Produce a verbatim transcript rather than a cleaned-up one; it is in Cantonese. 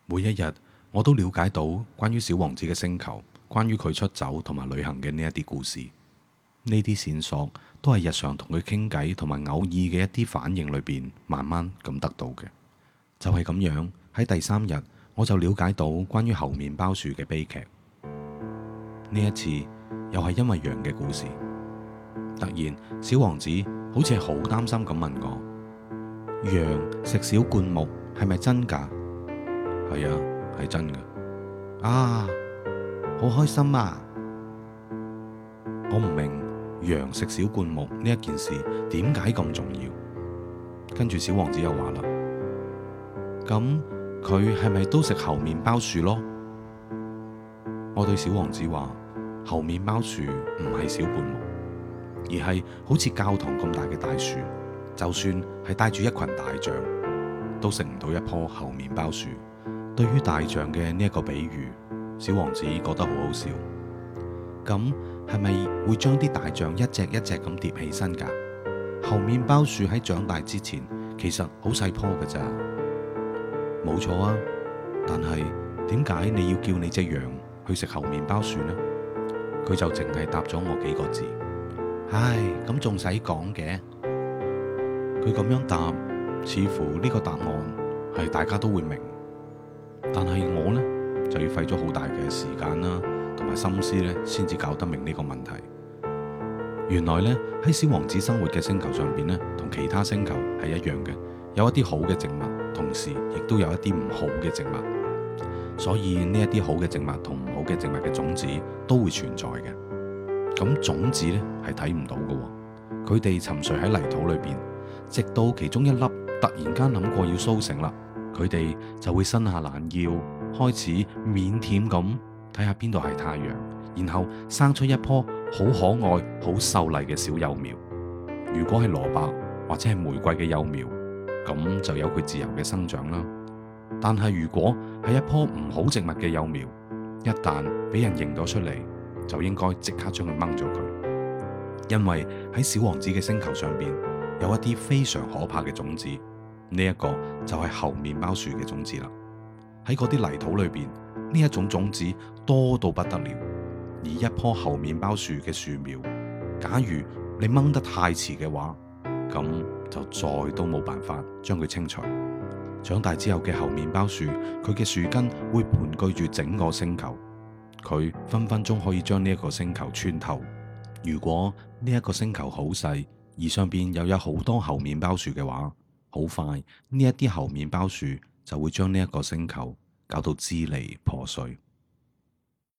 每一日我都了解到關於小王子嘅星球，關於佢出走同埋旅行嘅呢一啲故事。呢啲線索都係日常同佢傾偈同埋偶爾嘅一啲反應裏邊慢慢咁得到嘅。就係咁樣，喺第三日我就了解到關於猴麵包樹嘅悲劇。呢一次又係因為羊嘅故事。突然，小王子好似係好擔心咁問我：羊食小灌木係咪真㗎？係啊，係真㗎。啊，好開心啊！我唔明羊食小灌木呢一件事點解咁重要。跟住小王子又話啦：咁佢係咪都食猴麵包樹咯？我對小王子話：猴麵包樹唔係小灌木，而係好似教堂咁大嘅大樹，就算係帶住一群大象，都食唔到一棵猴麵包樹。對於大象嘅呢一個比喻，小王子覺得好好笑。咁係咪會將啲大象一隻一隻咁疊起身㗎？猴麵包樹喺長大之前，其實好細棵㗎咋。冇錯啊，但係點解你要叫你隻羊去食猴麵包樹呢？佢就淨係答咗我幾個字：唉，咁仲使講嘅？佢咁樣答，似乎呢個答案係大家都會明。但係我呢，就要費咗好大嘅時間啦，同埋心思呢，先至搞得明呢個問題。原來呢，喺小王子生活嘅星球上邊呢，同其他星球係一樣嘅，有一啲好嘅植物，同時亦都有一啲唔好嘅植物。所以呢一啲好嘅植物同唔好嘅植物嘅種子都會存在嘅。咁種子呢，係睇唔到嘅，佢哋沉睡喺泥土裏邊，直到其中一粒突然間諗過要甦醒啦。佢哋就會伸下懶腰，開始腼腆咁睇下邊度係太陽，然後生出一棵好可愛、好秀麗嘅小幼苗。如果係蘿蔔或者係玫瑰嘅幼苗，咁就有佢自由嘅生長啦。但係如果係一棵唔好植物嘅幼苗，一旦俾人認咗出嚟，就應該即刻將佢掹咗佢，因為喺小王子嘅星球上邊有一啲非常可怕嘅種子。呢一個就係猴麵包樹嘅種子啦。喺嗰啲泥土裏邊，呢一種種子多到不得了。而一棵猴麵包樹嘅樹苗，假如你掹得太遲嘅話，咁就再都冇辦法將佢清除。長大之後嘅猴麵包樹，佢嘅樹根會盤踞住整個星球，佢分分鐘可以將呢一個星球穿透。如果呢一個星球好細，而上邊又有好多猴麵包樹嘅話，好快呢一啲猴麵包樹就會將呢一個星球搞到支離破碎。